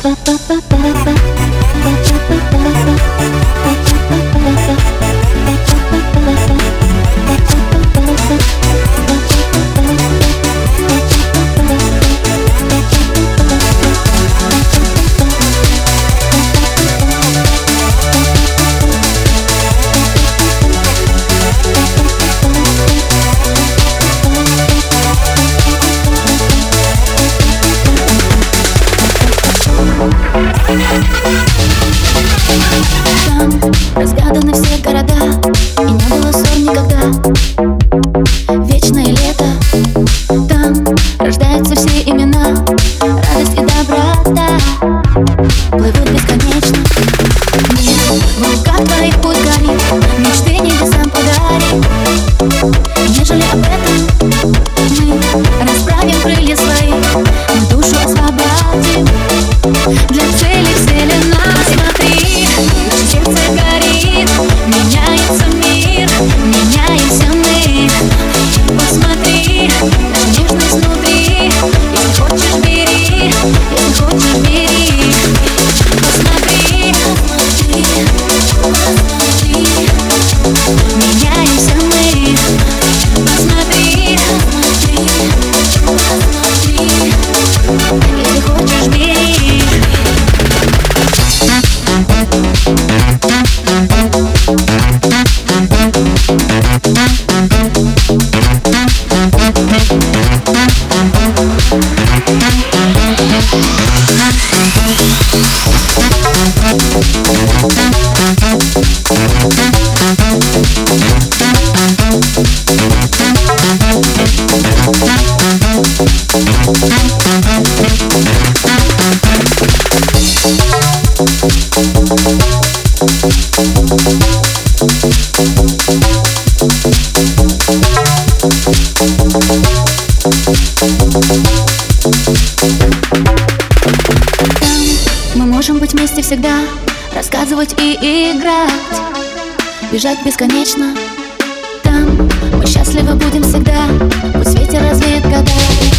Там разгаданы все города, и не было ссор никогда. Вечное лето, там рождаются все имена. Радость и доброта плывут бесконечно. Мир в руках твоих путь горит, мечты небесам подари. Нежели об этом мы расправим крылья свои, мы душу освободим для цели вселенной. Смотри, наше сердце горит, меняется мир, меняемся мы. Посмотри, наша нежность внутри. Если хочешь, бери, если хочешь, бери. Посмотри, посмотри, меняемся мы. Посмотри, посмотри, если хочешь, бери. Мы можем быть вместе всегда, рассказывать и играть, бежать бесконечно. Там мы счастливы будем всегда, пусть ветер развеет года.